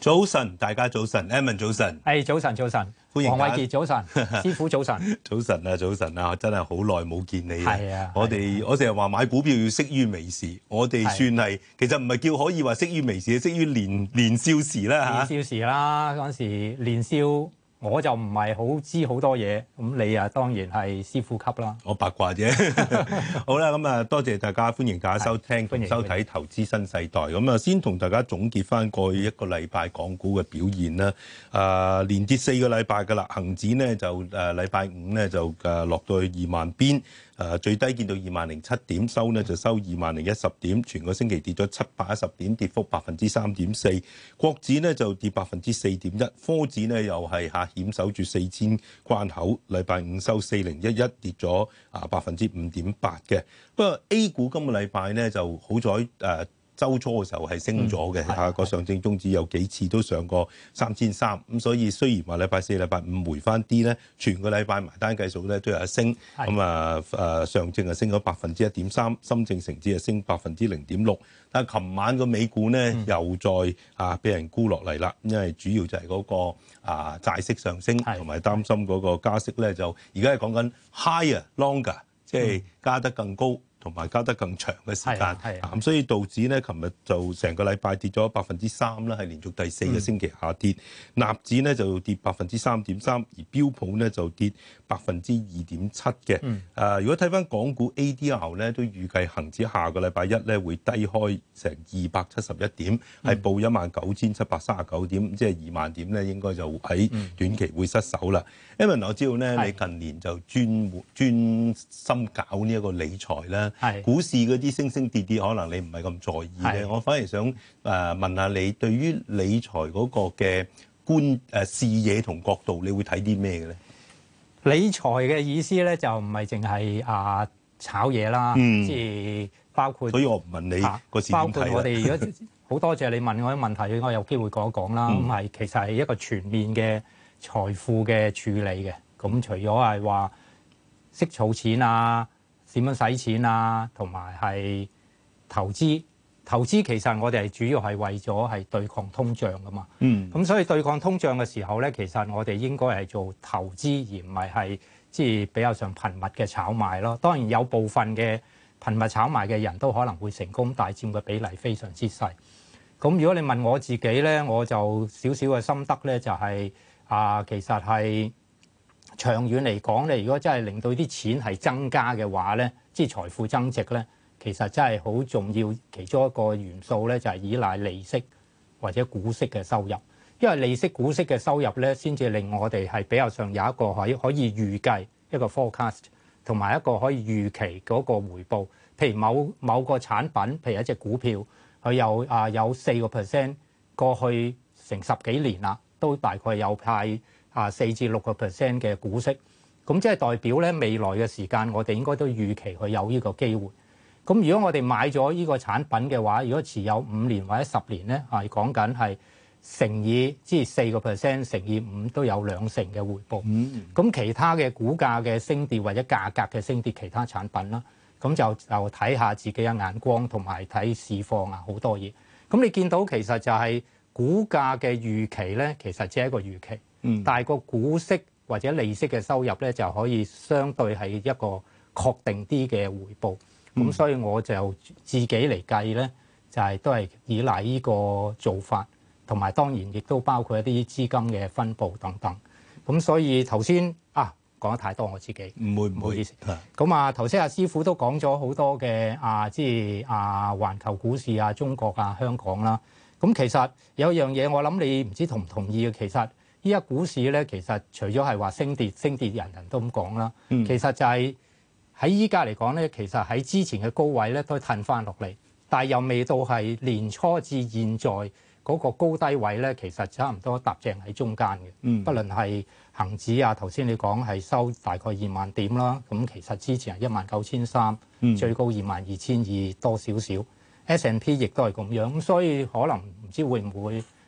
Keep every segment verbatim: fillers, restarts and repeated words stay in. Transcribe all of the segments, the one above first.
早晨，大家早晨 ，Edmond 早晨， 係早晨，早晨， 歡迎黃偉傑早晨，師傅早晨， 早晨啊，早晨啊，真係好耐冇見你啊！ 係啊， 我哋我成日話買股票要識於微時，我哋算係其實唔係叫可以話識於微時，識於年年少時啦嚇。 年少時啦，嗰陣時年少。我就唔係好知好多嘢，咁你啊當然係師傅級啦。 我八卦啫。好啦，咁啊多謝大家，歡迎大家收聽同收睇《投資新世代》。咁啊先同大家總結翻過去一個禮拜港股嘅表現啦。啊連跌四個禮拜㗎啦，恆指呢就誒禮拜五呢就誒落到去二萬邊。誒最低見到二萬零七點，收呢就收二萬零一十點，全個星期跌咗七百一十點，跌幅百分之三點四。國指呢就跌百分之四點一，科指呢又係下險守住四千關口，禮拜五收四零一一，跌咗啊百分之五點八嘅。不過 A 股今個禮拜呢就好彩誒。呃週初嘅時候係升咗嘅，下個上證綜指有幾次都上過三千三，咁所以雖然話禮拜四、禮拜五回翻啲咧，全個禮拜埋單計數咧都有一升，咁啊誒上證啊升咗百分之一點三，深證成指啊升百分之零點六，但係琴晚個美股咧、嗯、又再啊俾人沽落嚟啦，因為主要就係嗰個啊債息上升，同埋擔心嗰個加息咧就而家係講緊 higher longer， 即係加得更高。同埋加得更長嘅時間，咁所以道指咧，琴日就成個禮拜跌咗百分之三啦，係連續第四個星期下跌。納、嗯、指咧就跌百分之三點三，而標普咧就跌百分之二點七嘅。誒、嗯呃，如果睇翻港股 A D R 咧，都預計恒指下個禮拜一咧會低開成二百七十一點，係、嗯、報一萬九千七百三十九點，即係二萬點咧，應該就喺短期會失守啦。因為我知道咧，你近年就專專心搞呢一個理財啦。係股市嗰啲升升跌跌，可能你唔係咁在意咧。我反而想誒問下你，對於理財嗰個嘅觀誒視野同角度，你會睇啲咩嘅咧？ 理財嘅意思咧，就唔係淨係啊炒嘢啦，嗯、即係包括。所以我唔問你個市點睇啦。包括我哋如果好多謝你問我啲問題，我有機會講一講啦。咁、嗯、係其實係一個全面嘅財富嘅處理嘅。咁除咗係話識儲錢啊。點樣使錢啊？同埋係投資，投資其實我哋係主要係為咗係對抗通脹噶嘛。嗯。咁所以對抗通脹嘅時候咧，其實我哋應該係做投資，而唔係係即係比較上頻密嘅炒賣咯。當然有部分嘅頻密炒賣嘅人都可能會成功，但係佔嘅比例非常之細。咁如果你問我自己咧，我就少少嘅心得咧，就係、是、啊，其實係。長遠嚟講咧，如果真係令到啲錢係增加嘅話咧，即係財富增值咧，其實真係好重要。其中一個元素咧，就係依賴利息或者股息嘅收入，因為利息、股息嘅收入咧，先至令我哋係比較上有一個可以可以預計一個 forecast， 同埋一個可以預期嗰個回報。譬如某某個產品，譬如一隻股票，佢有啊有四個 percent 過去成十幾年啦，都大概有派。啊，四至六個 percent 嘅股息，咁即係代表咧未來嘅時間，我哋應該都預期佢有呢個機會。咁如果我哋買咗呢個產品嘅話，如果持有五年或者十年咧，係講緊係乘以即係四個 percent 乘以五都有兩成嘅回報。咁、嗯、其他嘅股價嘅升跌或者價格嘅升跌，其他產品啦，咁就就睇下自己嘅眼光同埋睇市況啊，好多嘢。咁你見到其實就係股價嘅預期咧，其實只係一個預期。嗯，但係個股息或者利息嘅收入咧，就可以相對係一個確定啲嘅回報。咁、嗯、所以我就自己嚟計咧，就係、是、都係依賴呢個做法，同埋當然亦都包括一啲資金嘅分佈等等。咁所以頭先啊講得太多，我自己唔會唔好意思。咁啊頭先阿師傅都講咗好多嘅啊，即係啊環球股市啊、中國啊、香港啦。咁其實有一樣嘢我諗你唔知同唔同意嘅，其實。依家股市咧，其實除咗係話升跌，升跌人人都咁講啦。嗯、其實就係喺依家嚟講咧，其實喺之前嘅高位咧都褪翻落嚟，但係又未到係年初至現在嗰個高低位咧，其實差唔多搭正喺中間嘅。嗯，不論係恒指啊，頭先你講係收大概二萬點啦，咁其實之前係一萬九千三，最高二萬二千二多少少。S and P 亦都係咁樣，咁所以可能唔知會唔會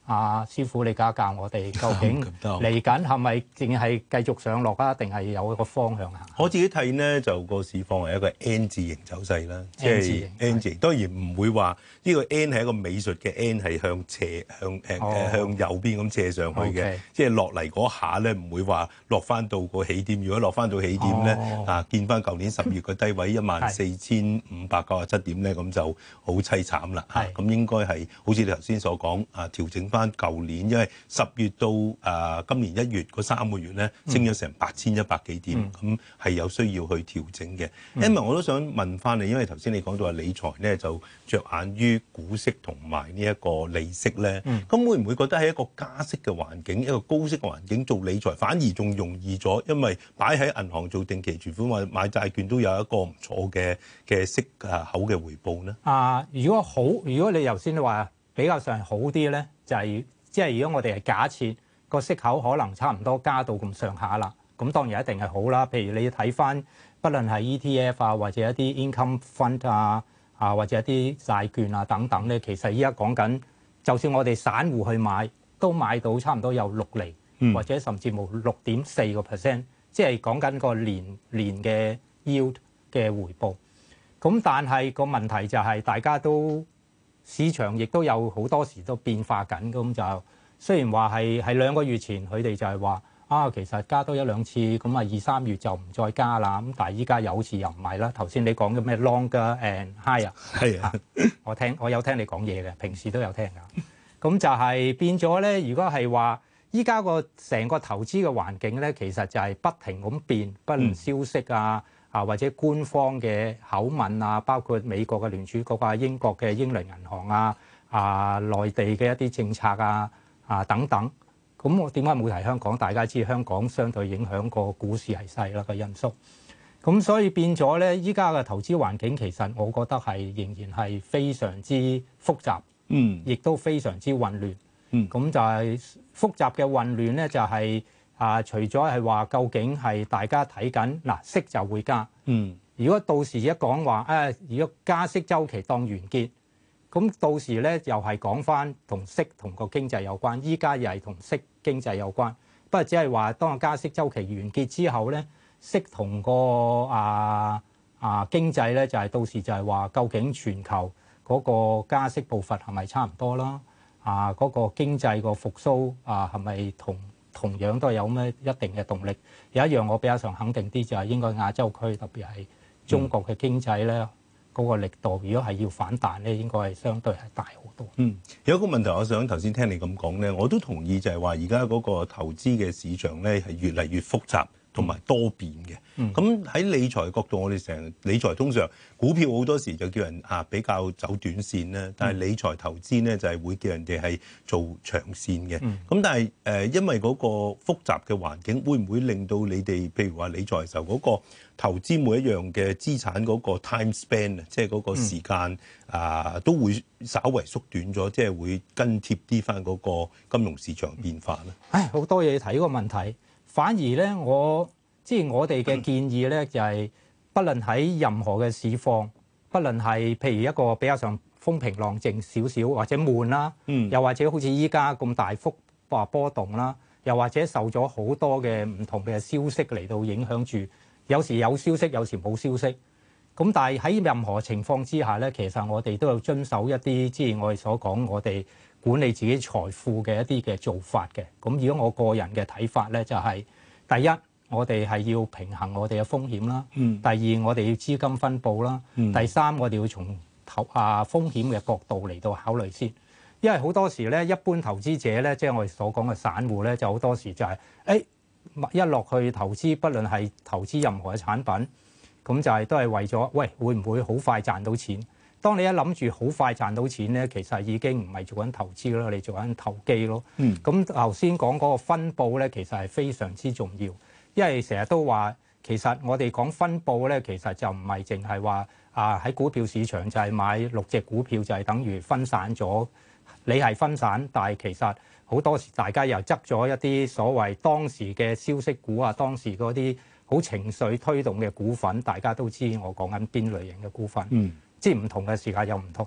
啊，師傅你教教我哋，究竟嚟緊係咪淨係繼續上落啊，定係有一個方向行？ 我自己睇呢，就個市況係一個 N 字形走勢啦，即係 N 字形。當然唔會話呢個 N 係一個美術嘅 N 係向斜向誒、哦、向右邊咁斜上去嘅， okay. 即係落嚟嗰下咧唔會話落翻到個起點。如果落翻到起點咧、哦，啊見翻舊年十月個低位一萬四千五百九十七點咧，咁就好凄慘啦。咁、啊、應該係好似你頭先所講啊，調整翻舊年，因為十月到啊今年一月嗰三個月咧升咗成八千一百幾點，咁、嗯、係有需要去調整嘅。因、嗯、為我都想問翻你，因為頭先你講到話理財咧就着眼於股息同埋呢一個利息咧，咁、嗯、會唔會覺得喺一個加息嘅環境、一個高息嘅環境做理財反而仲容易咗？因為擺喺銀行做定期存款或者買債券都有一個唔錯嘅嘅息啊口嘅回報咧。 啊，如果好，如果你頭先話比較上好啲咧，就係即係如果我哋係假設個息口可能差唔多加到咁上下啦，咁當然一定係好啦。譬如你睇翻，不論係 E T F 啊，或者一啲 income fund 啊，啊或者一啲債券啊等等咧，其實依家講緊，就算我哋散戶去買，都買到差唔多有六厘、嗯，或者甚至冇六點四個 percent，即係講緊個年年嘅 yield 嘅回報。咁但係個問題就係大家都市場亦都有好多時都變化緊，咁就雖然話係係兩個月前佢哋就係話啊，其實加多一兩次，咁啊二三月就唔再加啦。咁但係依家有好似又唔係啦。頭先你講嘅咩 longer and higher 啊，係啊，我聽我有聽你講嘢嘅，平時都有聽㗎。咁就係變咗咧。如果係話依家個成個投資嘅環境咧，其實就係不停咁變，不論消息啊。嗯啊，或者官方嘅口吻啊，包括美國嘅聯儲局啊、英國嘅英倫銀行啊、啊內地嘅一啲政策啊、啊等等。咁我點解冇提香港？大家知香港相對影響個股市係細啦個因素。咁所以變咗咧，依家嘅投資環境其實我覺得係仍然係非常之複雜，嗯，亦都非常之混亂，嗯。咁就係複雜嘅混亂咧，就係、是。啊！除咗係話，究竟係大家睇緊嗱息就會加。嗯。如果到時一講話，誒、啊，如果加息週期當完結，咁到時咧又係講翻同息同個經濟有關。依家又係同息經濟有關，不過只係話當個加息週期完結之後咧，息同個啊啊經濟咧就係、是、到時就係話，究竟全球嗰個加息步伐係咪差唔多啦？啊，嗰、那個經濟個復甦啊係咪同？同樣都係有咩一定嘅動力。有一樣我比較上肯定啲，就係應該亞洲區，特別係中國嘅經濟咧，嗰、嗯、個力度，如果係要反彈咧，應該係相對係大好多。 嗯，有一個問題，我想頭先聽你咁講咧，我都同意，就係話而家嗰個投資嘅市場咧係越嚟越複雜。同埋多變嘅，咁喺理財角度，我哋成日理財通常股票好多時就叫人啊比較走短線啦，但係理財投資咧就係會叫人哋係做長線嘅。咁、嗯、但係誒，因為嗰個複雜嘅環境，會唔會令到你哋譬如話理財嘅時候嗰個投資每一樣嘅資產嗰個 time span 啊，即係嗰個時間啊，都會稍為縮短咗，即係會跟貼啲翻嗰個金融市場變化咧？ 唉，好多嘢睇個問題。反而咧，我即係我哋嘅建議咧，就係不論喺任何嘅市況，不論係譬如一個比較上風平浪靜少少，或者悶啦，嗯，又或者好似依家咁大幅波波動啦，又或者受咗好多嘅唔同嘅消息嚟到影響住，有時有消息，有時冇消息。咁但係喺任何情況之下咧，其實我哋都有遵守一啲即係我哋所講我哋管理自己財富嘅一啲嘅做法嘅。咁如果我個人嘅睇法咧，就係、是、第一，我哋係要平衡我哋嘅風險啦。嗯。第二，我哋要資金分佈啦。嗯。第三，我哋要從投啊風險嘅角度嚟到考慮先。因為好多時咧，一般投資者咧，即係我哋所講嘅散戶咧，就好多時就係、是、誒一落去投資，不論係投資任何嘅產品。咁就係都係為咗，喂，會唔會好快賺到錢？當你一諗住好快賺到錢咧，其實已經唔係做緊投資咯，你做緊投機咯。嗯。咁頭先講嗰個分佈咧，其實係非常之重要，因為成日都話，其實我哋講分佈咧，其實就唔係淨係話啊喺股票市場就係買六隻股票就係等於分散咗。你係分散，但係其實好多時大家又執咗一啲所謂當時嘅消息股啊，當時嗰啲好情緒推動嘅股份，大家都知我講緊邊類型嘅股份，嗯，即係唔同嘅時間又唔同。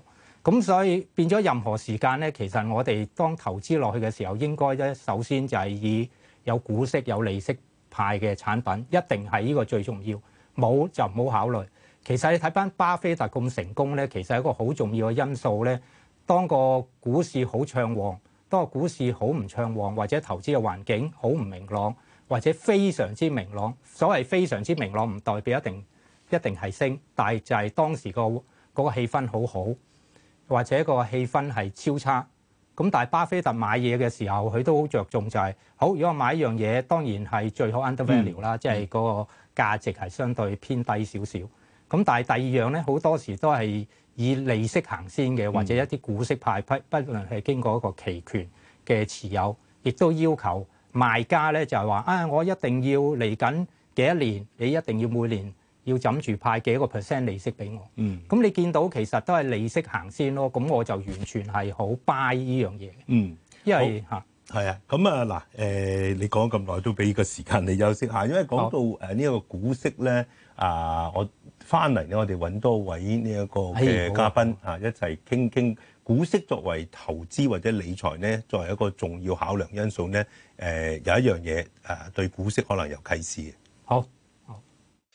咁所以變咗任何時間咧，其實我哋當投資落去嘅時候，應該咧首先就係以有股息有利息派嘅產品，一定係呢個最重要。冇就唔好考慮。其實你睇翻巴菲特咁成功咧，其實一個好重要嘅因素咧，當個股市好暢旺，當個股市好唔暢旺，或者投資嘅環境好唔明朗，或者非常之明朗。所謂非常之明朗唔代表一定一定係升，但係就係當時個嗰個氣氛好好，或者個氣氛係超差。咁但係巴菲特買嘢嘅時候，佢都好着重就係、是、好。如果我買一樣嘢，當然係最好 under value 啦，即係嗰個價值係相對偏低少少。咁但係第二樣咧，好多時都係以利息行先嘅，或者一啲股息派，不不論係經過一個期權嘅持有，亦都要求賣家咧就係話啊，我一定要嚟緊幾多年，你一定要每年要枕住派幾個 percent 利息俾我。嗯，咁你見到其實都係利息行先咯。咁我就完全係好 buy 呢樣嘢。嗯，因為嚇係啊。咁啊嗱，誒你講咁耐都俾個時間你休息下，因為講到誒呢個股息咧啊，我翻嚟咧，我哋揾多位呢一個嘅嘉賓啊，一齊傾傾股息作為投資或者理財咧，作為一個重要考量因素咧。誒有一樣嘢誒對股息可能有啟示嘅。 好。